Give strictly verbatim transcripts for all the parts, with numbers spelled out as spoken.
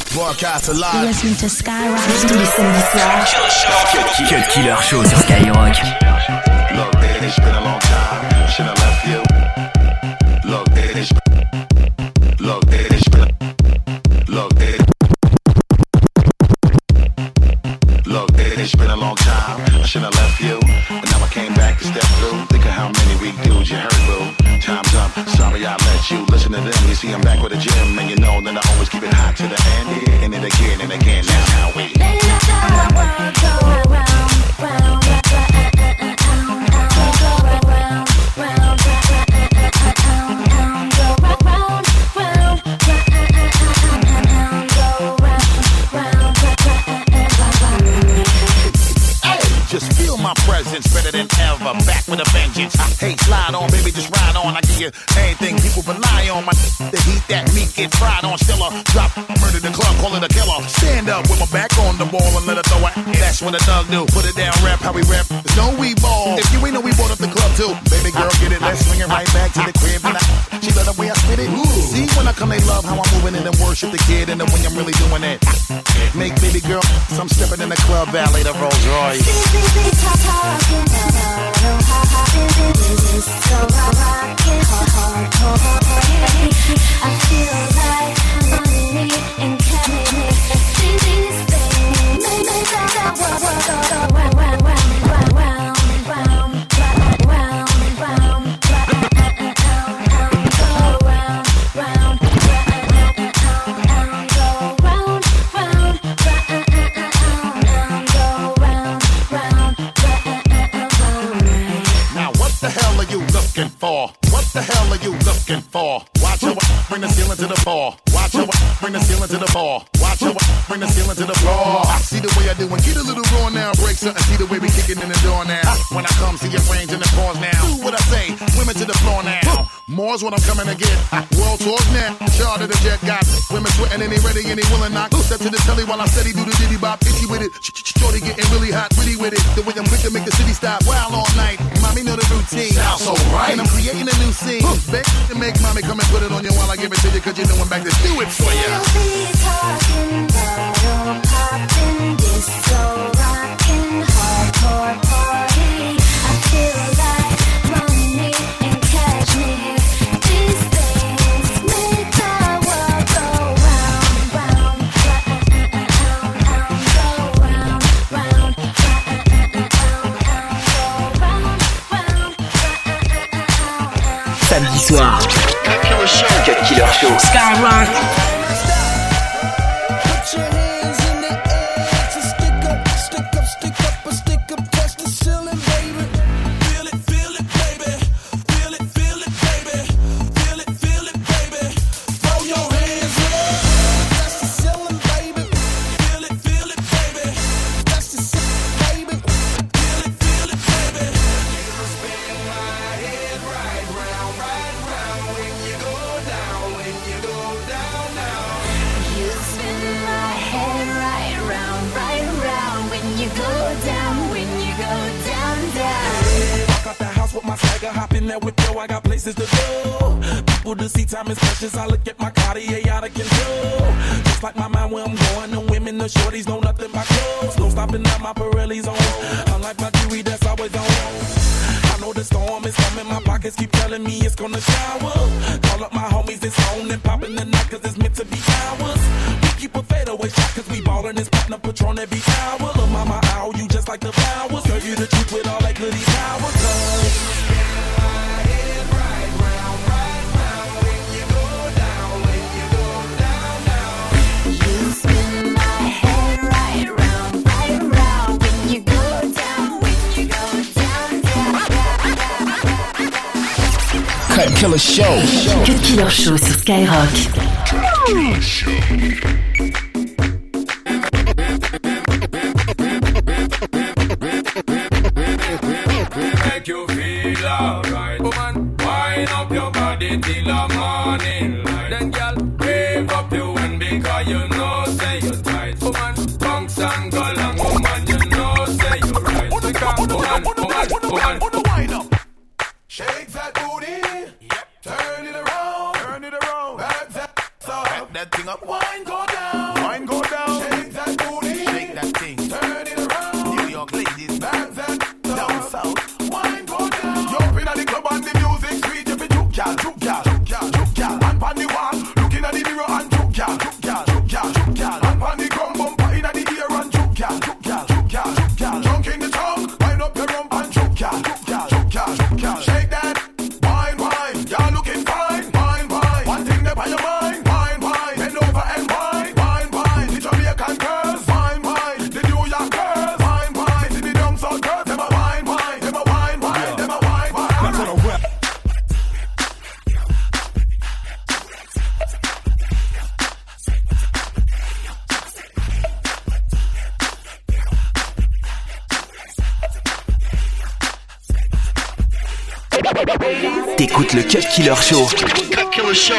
Broadcast alive. Listen to Skyrock. Tous les samedis soirs. Cut Killer Show sur Skyrock. Look, it's been a long time. Should I left you? Look, it's Look, it's been Look, it Look, it's been a long time. I should have left you, and now I came back to step through. Think of how many weak dudes you heard, boo. Time's up. Sorry I let you listen to them. You see, I'm back with a gym, and you know that I always keep it hot to the end. And then again and again. That's how we. Better than ever, back with a vengeance. Hey, slide on, baby, just ride on. I give you anything people rely on. My the heat that meat get fried on. Still a drop, murder the club, call it a killer. Stand up with my back on the wall and let her throw it. That's what a thug do. Put it down, rap how we rap. There's no we ball. If you ain't know, we bought up the club too. Baby girl, get it, let's swing it right back to the crib. And I, she love the way I spit it. Ooh. See, when I come, they love how I'm moving it and worship the kid. And then when I'm really doing it, make baby girl, some stepping in the club, valet the Rolls Royce. Talking about how this is so rockin', I feel like money and cash. These things make that world go round, round, round, round, round, round, round, round, go round, round, go round, round, go round, round. What the hell are you looking for? What the hell are you looking for? Watch your bring the ceiling to the floor. Watch your bring the ceiling to the floor. Watch your bring the ceiling to the floor. I see the way I do and get a little raw now. Break something, see the way we kicking in the door now. When I come, see your range in the pause now. Do what I say, women to the floor now. More's what I'm coming to get. World tours now. Charter the jet got women sweating and they ready and they willing knock. Step to the telly while I steady do the diddy bop. Itchy with it. Shorty getting really hot, pretty with it. The way I'm quick to make the city stop. Wild all night. Mommy know the routine. Sounds so right. And I'm creating a new scene. Beg to make mommy come and put it on you while I give it to you. Cause you know I'm back to do it for you. We'll be talking about popping, disco, rockin', hardcore party. I feel like money and cashmere. These things make the world go round, round, round, go round, round, round, round. Samedi soir. Cut Killer Show. Skyrock. I got places to go. People to see, time is precious. I look at my Cartier out of control. Just like my mind where I'm going. The women, the shorties know nothing but clothes. No stopping at my Pirelli's on. Unlike my jewelry that's always on. I know the storm is coming. My pockets keep telling me it's gonna shower. Call up my homies, it's on and popping the night cause it's meant to be ours. We keep a fadeaway shot cause we ballin' this platinum Patron every hour. Look mama, ow, you just like the flowers. Girl, you the truth with all that goody power. Cause Cut Killer Show. Cut Killer Show sur Skyrock. Make you feel alright, woman. Wind up your body till the morning light. Then, girl, wave up your hand because you know say you're tight, woman. Bounce and go long, woman. You know say you're right. Because, woman, woman, woman, wind up. Shake that booty. Yep. Turn it around. Turn it around. Back that up. Back that thing up. Wine go down. Wine T'écoutes le Cut Killer Show. Cut Killer Show.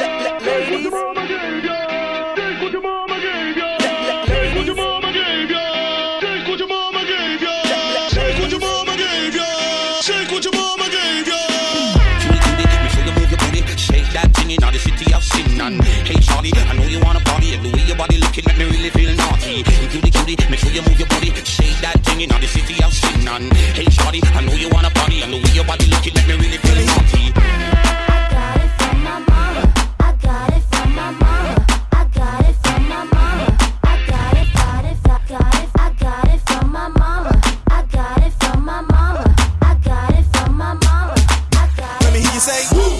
Hey Charlie, I know you wanna party, and the way your body looking make me really feel naughty. Cutie, cutie, make sure you move your body, shake that thing in the city of sin. Hey Charlie, I know you wanna party, and the way your body looking make me really feel naughty. I got it from my mama. I got it from my mama. I got it from my mama. I got it, got it, got it. I got it from my mama. I got it from my mama. I got it from my mama. I got it. Let me hear you say, woo.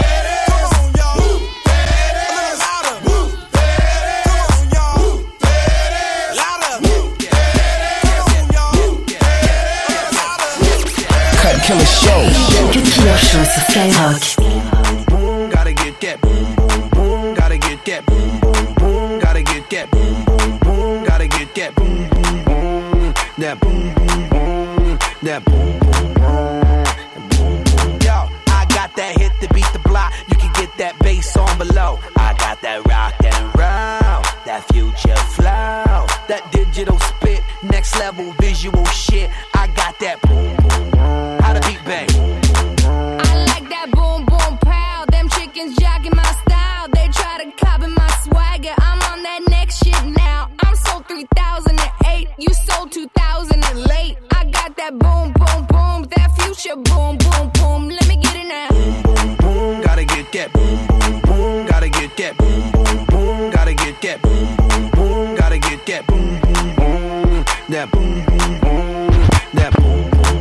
Killer Show. Cut Killer Show sur Skyrock. Gotta get that boom, boom, boom. Gotta get that boom, boom, boom. Gotta get that boom, boom, boom. Gotta get that boom, boom, boom. That boom, boom, boom. That boom, boom, boom. Yo, I got that hit to beat the block. You can get that bass on below. I got that rock and roll, that future flow, that digital spit, next level visual shit. I got that boom, boom, boom. How to beat bang. I like that boom boom pow. Them chickens jocking my style. They try to copy my swagger. I'm on that next shit now. I'm sold three thousand eight. You sold two thousand late. I got that boom boom boom. That future boom boom boom. Let me get it now. Boom, boom, boom. Gotta get that boom, boom, boom. Gotta get that boom, boom, boom. Gotta get that boom, boom, boom. Gotta get that boom, boom, boom. That boom, boom, boom. That boom, boom, boom.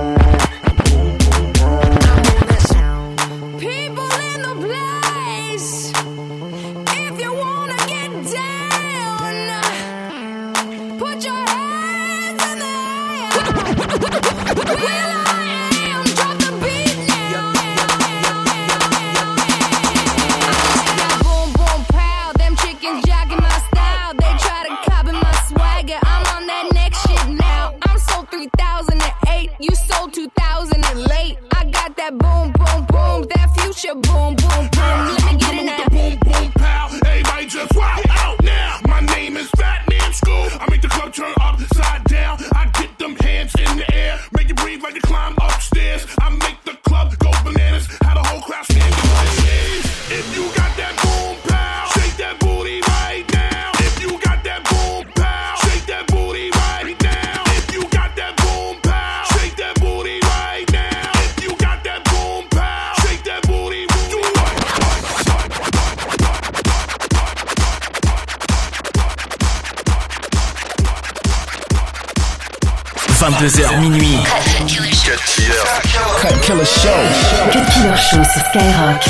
People in the place. If you wanna get down, put your hands in the air. Will I am, drop the beat now. Boom boom pow, them chickens jocking my style. They try to copy my swagger. I'm on that next shit now. I'm sold three thousand eight. You sold two thousand late. I got that boom boom boom. That future boom boom boom. Let me get it now. Boom, boom, pow. Everybody just wow out now. My name is Fat Man School. I make the club turn upside down. I get them hands in the air. Make you breathe like you climb upstairs. I make the club go bananas. Had a whole crowd standing on stage. If you got that boom, pow, shake that booty right now. If you got that boom, pow, shake that booty right now. If you got that boom, pow, shake that booty right now. If you got that boom, pow, shake that booty. Do what? vingt-deux heures minuit. Cut Killer. Cut Killer Show. Cut Killer Show sur Skyrock.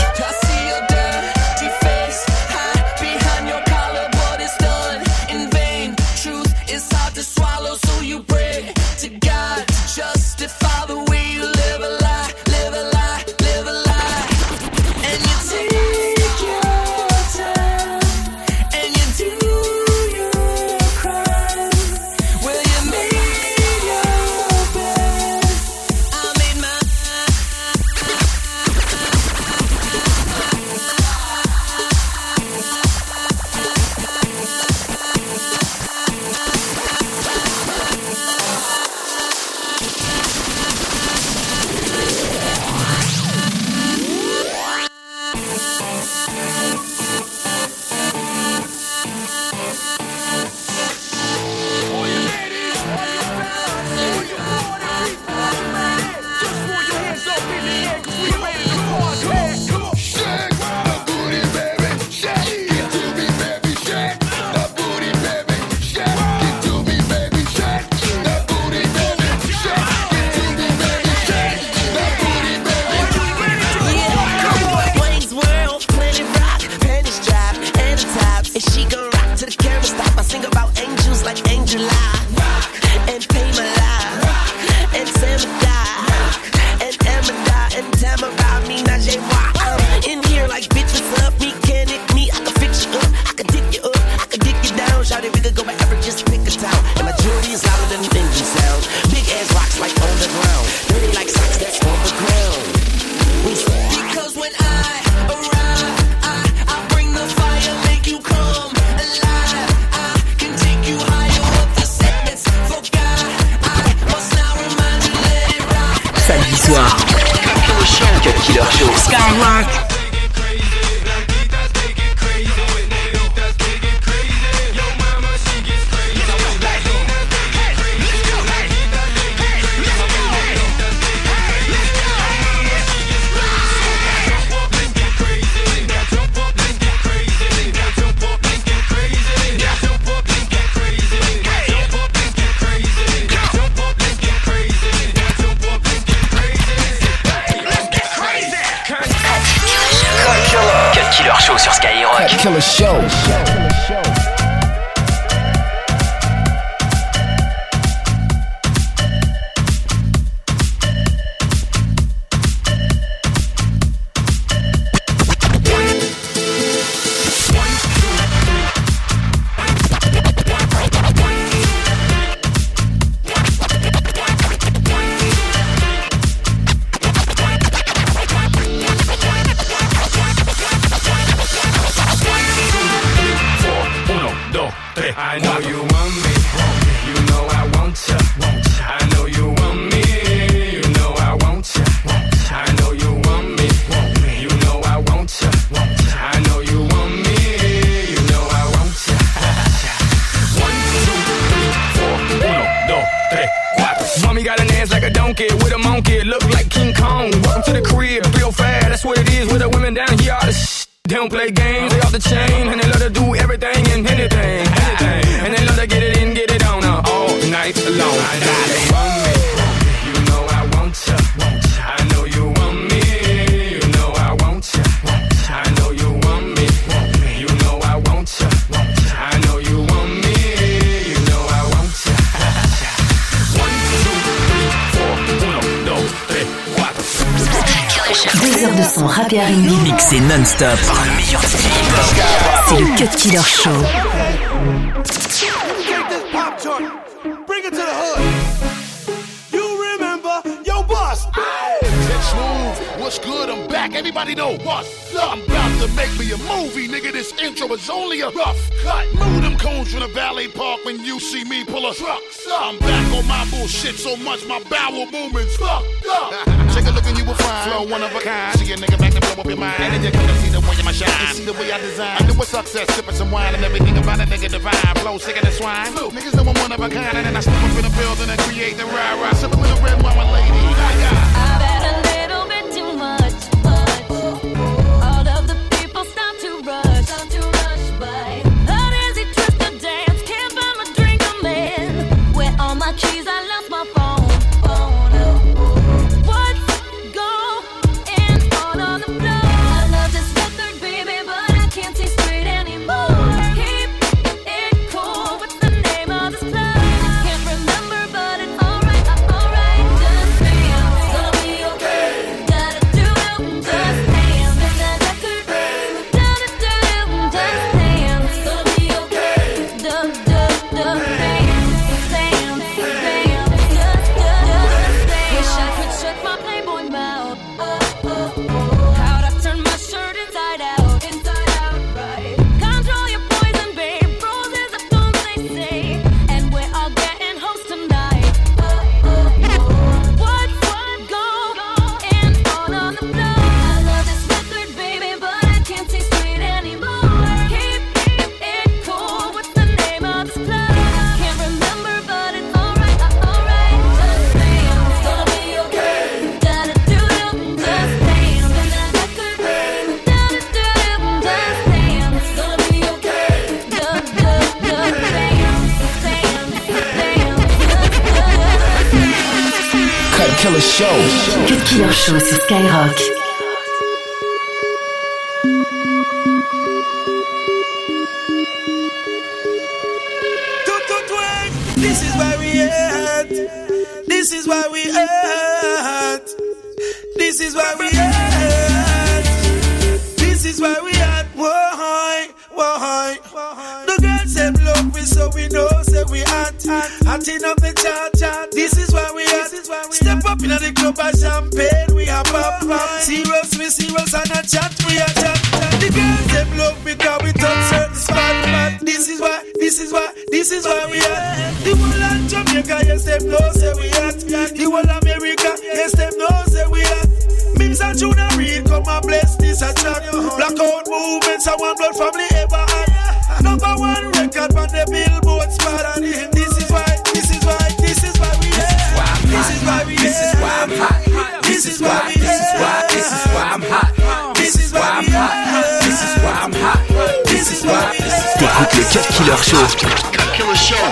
Samedi soir. Cut Killer Show. Skyrock. Killer Show sur Skyrock. Killer Show. I know you want me, you know I want ya. I know you want me, you know I want ya. I know you want me, you know I want ya. I know you want me, you know I want ya. One, two, three, four, uno, dos, tres, cuatro. Mommy got an ass like a donkey with a monkey, look like King Kong. Welcome to the crib, real fast, that's what it is with the women down here. All the sh- They don't play games, they off the chain, and they love to do everything and anything, anything. And they love to get it in, get it on her all night long. I know you want me, you know I want ya. I know you want me, you know I want ya. I know you want me, you know I want ya. I know you want me, you know I want ya. One, two, three, four, uno, dos, tres, cuatro. Deux heures de son rap et R and B mixé non-stop par le meilleur D J hip-hop. C'est le Cut Killer Show. Take this pop joint, bring it to the hood. You remember your boss? It's smooth. What's good? I'm back. Everybody know what's up. I'm about to make me a movie, nigga. This intro is only a rough cut. Move them cones from the valet park when you see me pull a truck. I'm back on my bullshit so much my bowel movements fucked up. Take a look and you will find flow one of a kind. See a nigga back to blow up your mind. And then you come to see the way in my shine. You see the way I design. I do a success, sipping some wine and everything about a nigga divine. Flow sicker than swine. Look, niggas know I'm one of a kind. And then I step up in the building and create the rah rah. Sipping with a red wine, my lady. I've had a little bit too much, but all of the people start to rush, start to rush by. How does he twist the dance? Can't buy my drink, I'm in. Where all my keys? I lost my phone. What's going on on the floor? I love this record, baby, but I can't see straight anymore. Keep it cool. What's the name of this club? Can't remember, but it's alright, alright. Just dance, gonna be okay. Gotta do it, just dance. In that record, gotta do it, just dance. Gonna be okay. Do, do, do, dance, dance, dance. Just, just, just dance. Wish I could shut my Playboy mouth. Oh, oh, oh. How'd I turn my shirt inside out? Inside out, right. Control your poison, babe. Roses are thorns, they say. And we're all getting host tonight. Oh, oh, oh. What's going on on the floor? I love this record, baby, but I can't see straight anymore. Keep it cool. What's the name of this club? Can't remember, but it's alright, alright. Just dance, gonna be okay. Gotta do it, just dance. In that record, gotta do it, just dance. Gonna be okay. Do, do, do, dance, dance, dance. Cut Killer Show. Cut Killer Show sur Skyrock. This is where we at. This is where we at. This is where we at. This is where we at. Why? Why? The girls them love we, so we know say we hot. Hotting up the chart, chart. This is where we at. Step up in the club and champagne. We are pop, pop. Serious, we serious and a chat. We are chat. The girls them love me 'cause we touch certain spot. But this is why, this is why, this is why we at. The whole of Jamaica, yes them know say we at. The whole of America, yes them know. Kings and Junior Reid come and bless this a track. Blackout movements and One Blood family ever had. Number one record on the Billboard spot. And this is why, this is why, this is why we here. This is why we here. This is why I'm hot. This is why we here. This is why, this is why I'm hot. This is why I'm hot. This is why I'm hot. This is why we here. T'écoutes le Cut Killer Show. Cut Killer Show.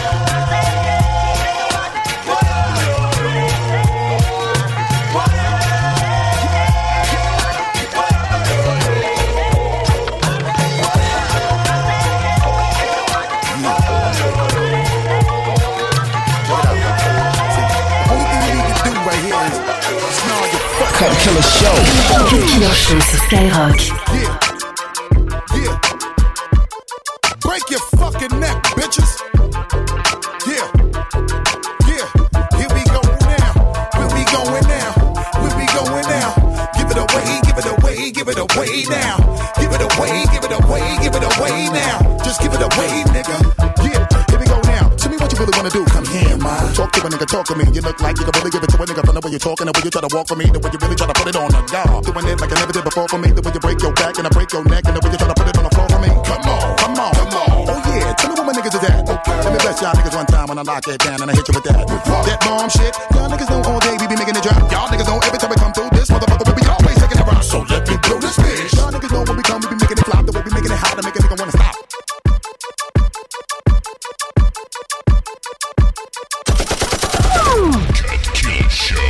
Cut Killer Show. Cut Killer Show sur Skyrock. Yeah, yeah. Break your fucking neck, bitches. Yeah, yeah. Here we go now. Where we going now? Where we going now? Give it away, give it away, give it away now. Give it away, give it away, give it away now. Just give it away, nigga. Yeah, here we go now. Tell me what you really wanna do. Come here, man. Talk to a nigga, talk to me. You look like you can really give it to a nigga from the way you're talking, the way you try to walk for me, the way you really try to put it on the guard. Doing it like I never did before for me, the way you break your back and I break your neck, and the way you try to put it on the floor for me. Come on, come on, come on. Oh yeah, tell me what my niggas is at. Okay, let me bless y'all niggas one time when I lock it down and I hit you with that. That bomb shit. Y'all niggas know all day we be making it drop. Y'all niggas know every time we come through this motherfucker we be always taking it rock. So let me blow this bitch. Y'all niggas know when we come we be making it flop, the way we making it hot to make a nigga wanna stop. Killer Show.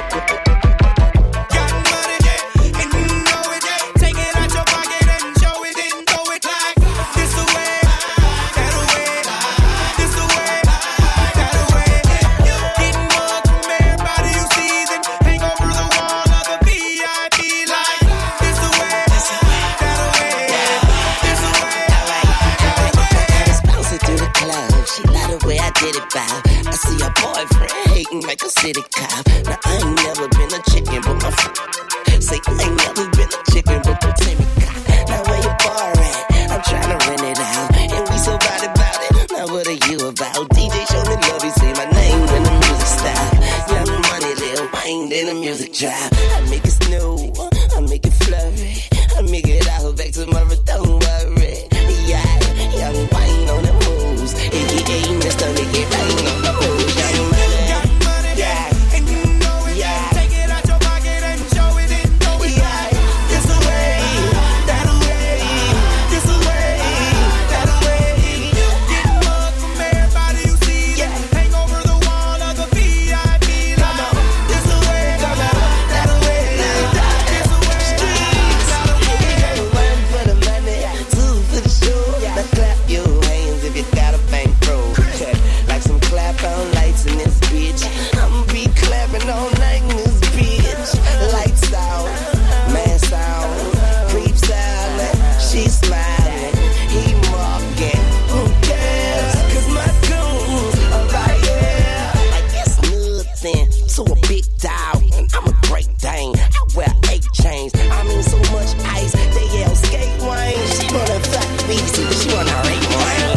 I see a boyfriend hating like a city cop. Now I ain't never been a chicken, but my f- say I ain't never been a chicken, but the Timmy cop. Now where your bar at? I'm trying to rent it out, and we so bad about it. Now what are you about? D J show me love, he say my name in the music style. Young money, little mind in the music drive. I make it snow, I make it flurry, I make it out back tomorrow. Don't worry, yeah, young wine on the moves. If you ain't Mister Make It Rain on the moves, young money, yeah, and you know it. Yeah. Take it out your pocket and show it and throw it back. This away, that away, this away, that away. Get mugged from everybody you see. Yeah. Hang over the wall of the V I P line. This away, that away, this away. Streets, one for the money, two for the show. Now clap your hands if you got a bankroll. Like some clap-on lights in this bitch. I'ma be clapping all night in this bitch. Lights out, mask out, creeps out. She smiling, he mocking. Who cares? Cause my goons are right here. Like it's nothing to a big dog, and I'm a great dane. I wear eight chains. I mean so much ice, they yell skate wine. She wanna fuck me, so she wanna rape wine.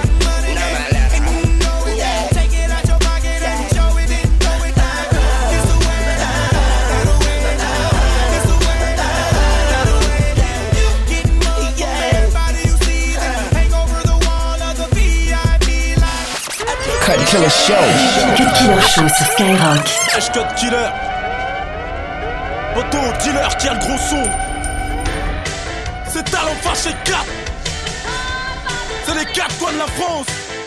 Cut Killer Show. Cut Killer Show sur Skyrock. H Cut Killer. Poto, dealer qui a le gros son. C'est Talent Fâché quatre. C'est les quatre coins de la France.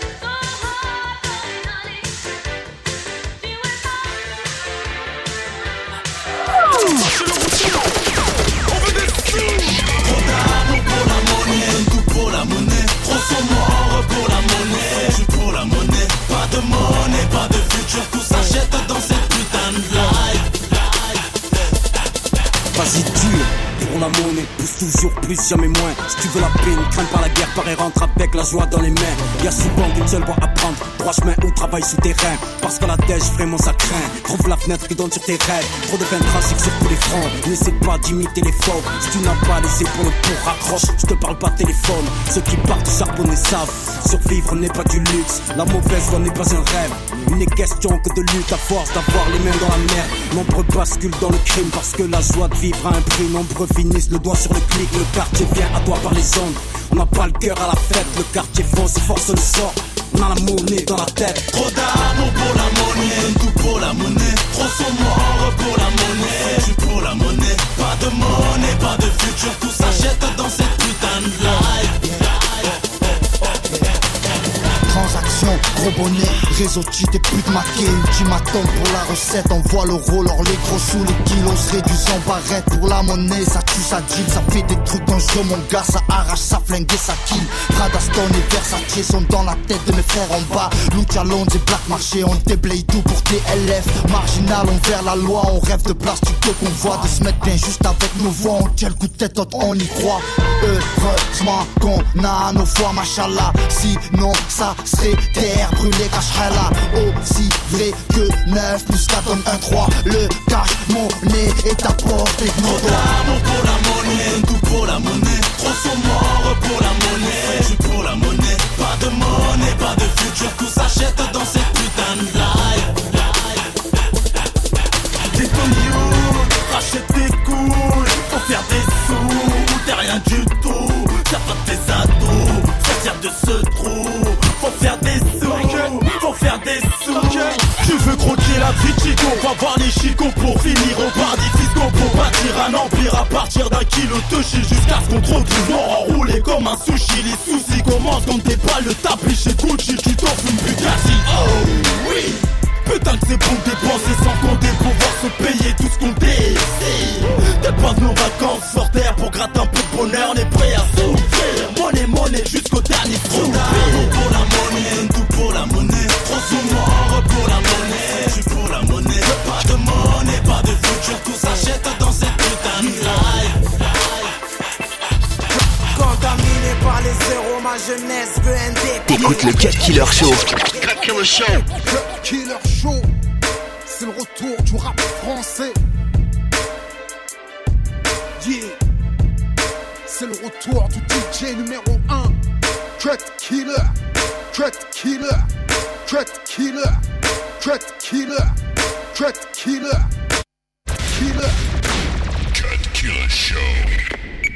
On veut des sous. Pour la monnaie, un coup pour la monnaie. Trop sont morts pour la monnaie. Je suis pour la monnaie. Pas de monnaie, pas de futur. Tout s'achète dans cette putain de life. Vas-y dur, et on la monnaie. Pousse toujours plus, jamais moins. Si tu veux la paix, ne crains pas la guerre. Pareil, rentre avec la joie dans les mains. Y'a souvent qu'une seule voie à prendre. Droit chemin ou travail souterrain. Parce que la dèche, vraiment ça craint. Trouve la fenêtre qui donne sur tes rêves. Trop de vin tragique sur tous les fronts. N'essaie pas d'imiter les faux. Si tu n'as pas laissé pour le pour raccroche, je te parle pas de téléphone. Ceux qui partent du charbonner savent. Survivre n'est pas du luxe. La mauvaise voie n'est pas un rêve. Il n'est question que de lutte à force d'avoir les mains dans la merde. Nombreux basculent dans le crime parce que la joie de vivre a un prix. Nombreux finissent le doigt sur le clic. Le quartier vient à toi par les ondes. On n'a pas le cœur à la fête. Le quartier fonce et force le sort. On a la monnaie dans la tête. Trop d'amour pour la monnaie, tout pour la monnaie. Trop sont morts pour la monnaie, tu pour la monnaie. Pas de monnaie, pas de futur, tout s'achète dans cette putain de life. Transaction, gros bonnet, réseau cheat et pute maquée. Ultimatum pour la recette, envoie le roller, les gros sous les kilos se réduisent en barrette. Pour la monnaie, ça tue, ça deal, ça fait des trucs dangereux. Mon gars, ça arrache, ça flingue et ça kill. Prada, Stone et Versace sont dans la tête de mes frères en bas. Lucha Lounge et Black Marché, on déblaye tout pour T L F. Marginal, on vers la loi, on rêve de plastique qu'on voit. De se mettre bien juste avec nos voix, on tient le coup de tête, on y croit. Heureusement qu'on a nos voix, machallah. Sinon, ça serait terre brûlée, cache-la. Aussi vrai que neuf plus quatre donne un trois. Le cash, monnaie est à portée de nos doigts. Trop d'amour pour la monnaie, tout pour la monnaie. Trop sont morts pour la monnaie, tu pour la monnaie. Pas de monnaie, pas de futur, tout s'achète dans cette putain de life. T'es ton youth, rachète tes couilles pour faire des sous. T'es rien du tout, t'as pas tes ados. Sortir de ce trou, faut faire des sous, faut faire des sous. Tu veux croquer la vie de Chico, va voir les chicots pour finir au paradis fiscaux. Pour bâtir un empire à partir d'un kilo de shit. Jusqu'à ce qu'on te retrouve mort enroulé comme un sushi. Les soucis commencent quand t'es pas le tapis chez Gucci. Tu t'offres une Bugatti, oh oui. Putain que c'est bon de dépenser sans compter pour pouvoir se payer tout ce qu'on désire. Dépense nos vacances sur terre pour gratter un peu de bonheur. On est prêt à souffrir. Monnaie, monnaie jusqu'au dernier sou. Trop pour la monnaie, tout pour la monnaie. Trop sous mort pour la monnaie, tu pour la monnaie. Pas de monnaie, pas de futur, tout s'achète dans cette putain de life. Contaminé par les zéros, ma jeunesse veut un dé. T'écoutes le Cut Killer Show. Cut Killer Show. Cut Killer Show. C'est le retour du rap français. Yeah. C'est le retour du D J numéro un. Cut Killer. Cut Killer. Cut Killer. Cut Killer. Cut Killer. Killer. Cut Killer Show.